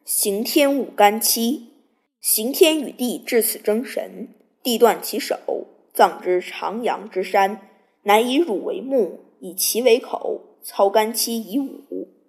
刑天舞干戚，刑天与地至此争神，地断其手，葬之长阳之山，乃以汝为目，以其为口，操干戚以舞。